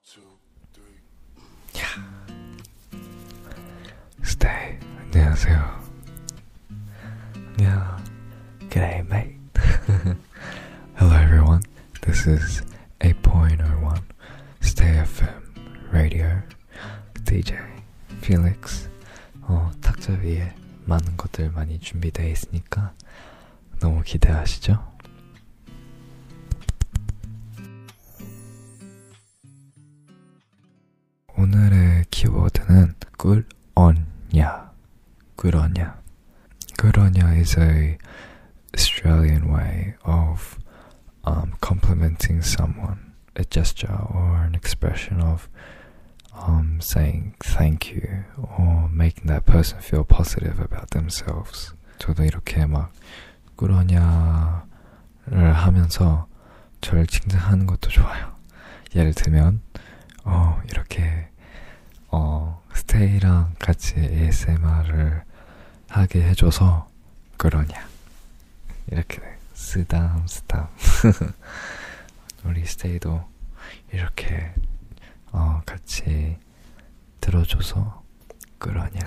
Stay. 안녕하세요. Yeah. G'day, mate. Hello, everyone. This is 8.01 Stay FM Radio. DJ Felix. 탁자 위에 많은 것들 많이 준비되어 있으니까 너무 기대하시죠? 오늘의 키워드는 꿀언냐. 꿀언냐. 꿀언냐 is a Australian way of complimenting someone, a gesture or an expression of saying thank you or making that person feel positive about themselves. 저도 이렇게 막 꿀언냐를 하면서 저를 칭찬하는 것도 좋아요. 예를 들면 이렇게 스테이랑 같이 ASMR을 하게 해줘서 그러냐 이렇게 쓰담 우리 스테이도 이렇게 같이 들어줘서 그러냐.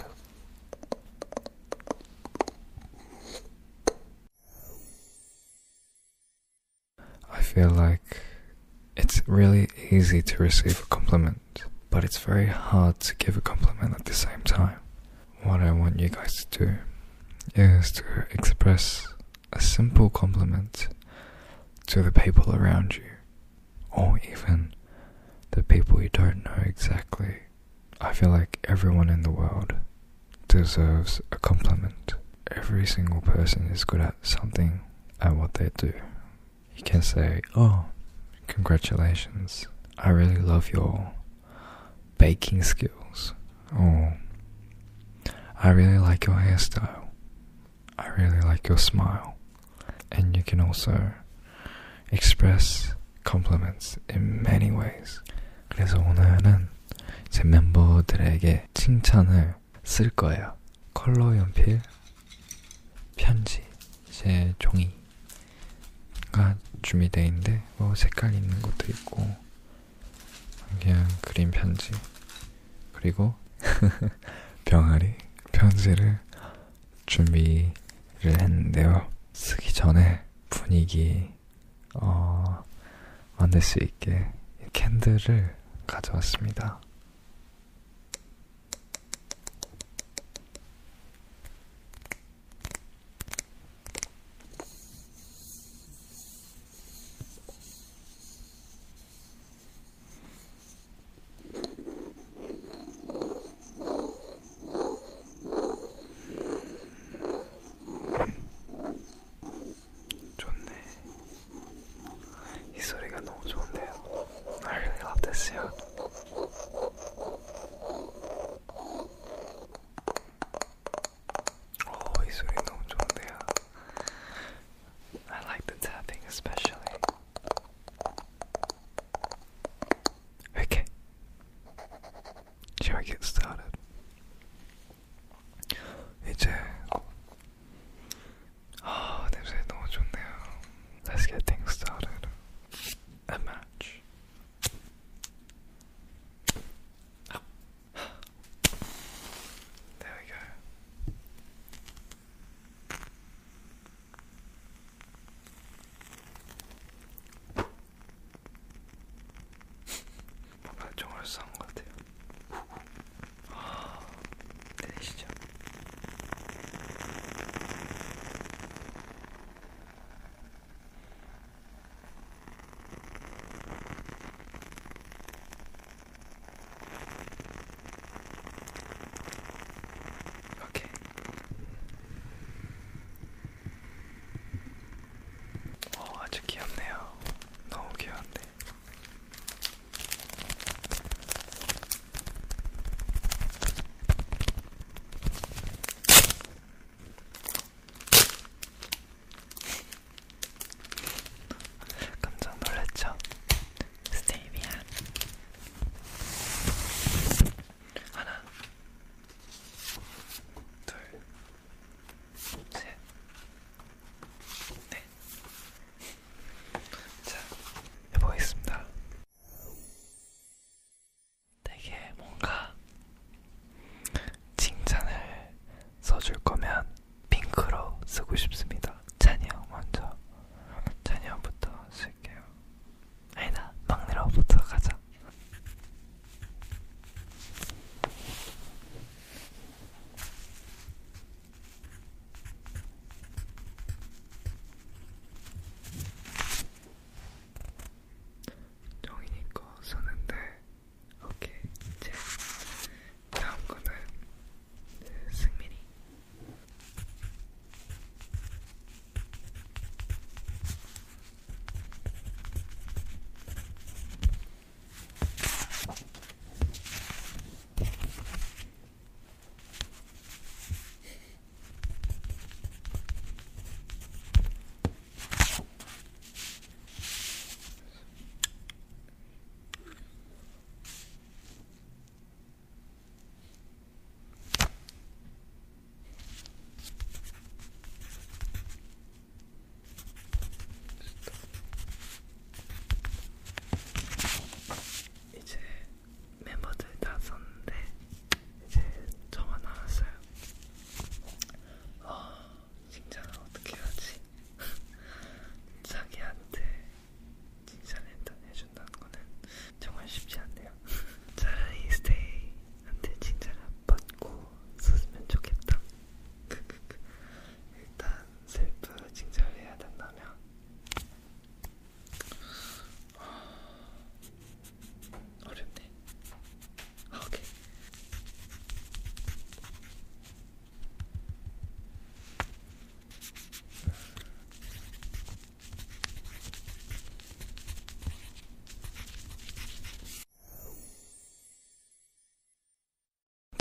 I feel like it's really easy to receive a compliment, but it's very hard to give a compliment at the same time. What I want you guys to do is to express a simple compliment to the people around you, or even the people you don't know exactly. I feel like everyone in the world deserves a compliment. Every single person is good at something at what they do. You can say, congratulations, I really love your baking skills. Or, I really like your hairstyle. I really like your smile. And you can also express compliments in many ways. 그래서 오늘은 제 멤버들에게 칭찬을 쓸 거예요. 컬러 연필, 편지, 제 종이가 준비되어 있는데 색깔 있는 것도 있고 그냥 그림 편지 그리고 병아리 편지를 준비를 했는데요. 쓰기 전에 분위기 만들 수 있게 캔들을 가져왔습니다. I really love this sound.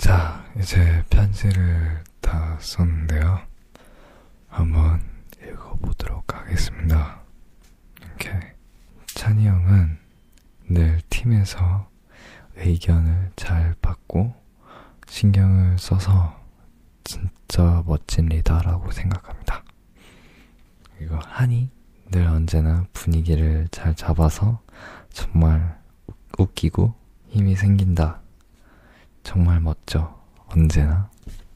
자, 이제 편지를 다 썼는데요. 한번 읽어보도록 하겠습니다. 오케이. 찬이 형은 늘 팀에서 의견을 잘 받고 신경을 써서 진짜 멋진 리더라고 생각합니다. 그리고 한이 늘 언제나 분위기를 잘 잡아서 정말 웃기고 힘이 생긴다. 정말 멋져. 언제나.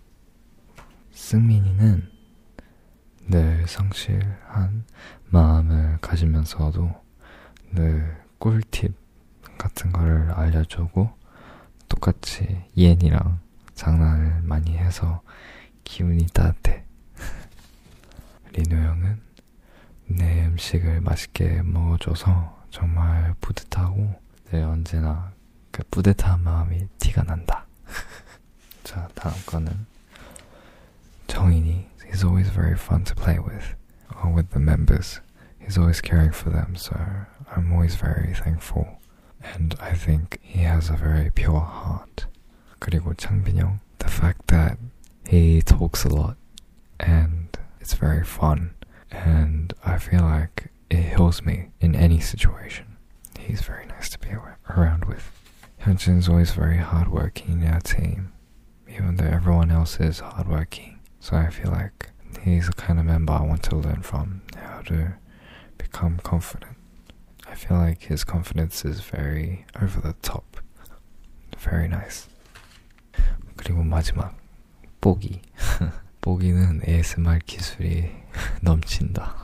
승민이는 늘 성실한 마음을 가지면서도 늘 꿀팁 같은 거를 알려주고 똑같이 이엔이랑 장난을 많이 해서 기분이 따뜻해. 리노 형은 내 음식을 맛있게 먹어줘서 정말 뿌듯하고 늘 언제나 그 뿌듯한 마음이 티가 난다. 자, 다음 거는 정인이. He's always very fun to play with the members. He's always caring for them, so I'm always very thankful. And I think he has a very pure heart. 그리고 창빈형, the fact that he talks a lot and it's very fun. And I feel like it heals me in any situation. He's very nice to be around with. Hyunjin's always very hardworking in our team, even though everyone else is hardworking. So I feel like he's the kind of member I want to learn from, how to become confident. I feel like his confidence is very over the top. Very nice. 그리고 마지막, 뽀기. 뽀기는 ASMR 기술이 넘친다.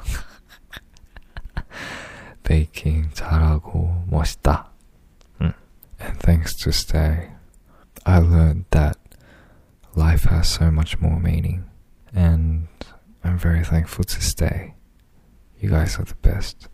베이킹 잘하고 멋있다. And thanks to Stay, I learned that life has so much more meaning. And I'm very thankful to Stay. You guys are the best.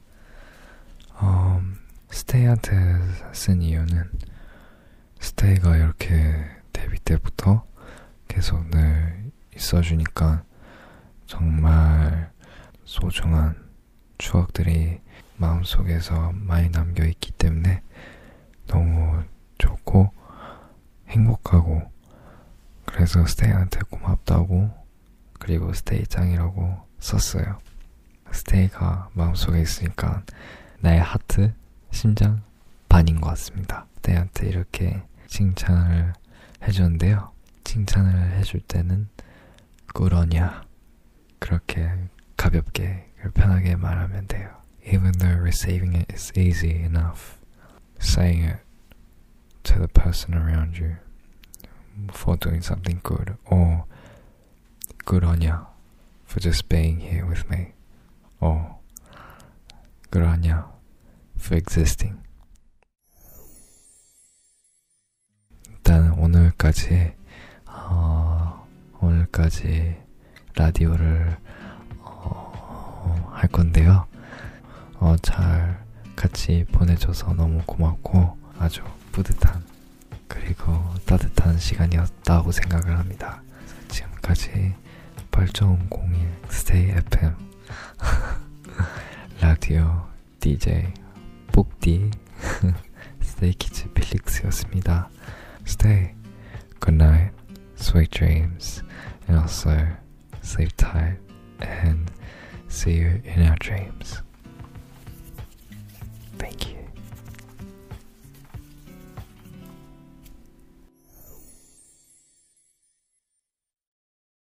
Stay한테 쓴 이유는 Stay가 이렇게 데뷔 때부터 계속 늘 있어주니까 정말 소중한 추억들이 마음속에서 많이 남겨있기 때문에 너무 좋고 행복하고, 그래서 스테이한테 고맙다고 그리고 스테이 짱이라고 썼어요. 스테이가 마음속에 있으니까 나의 하트, 심장 반인 것 같습니다. 스테이한테 이렇게 칭찬을 해줬는데요. 칭찬을 해줄 때는 꿀어냐, 그렇게 가볍게 편하게 말하면 돼요. Even though receiving it is easy enough, saying it to the person around you for doing something good, or 꿀어냐 for just being here with me, or 꿀어냐 for existing. 일단 오늘까지 라디오를 할 건데요. 잘 같이 보내줘서 너무 고맙고 아주 뿌듯한 그리고 따뜻한 시간이었다고 생각을 합니다. 지금까지 8.01 Stay FM 라디오 DJ 복디 스테이키즈 필릭스였습니다. Stay, good night, sweet dreams, and also sleep tight and see you in our dreams. Thank you.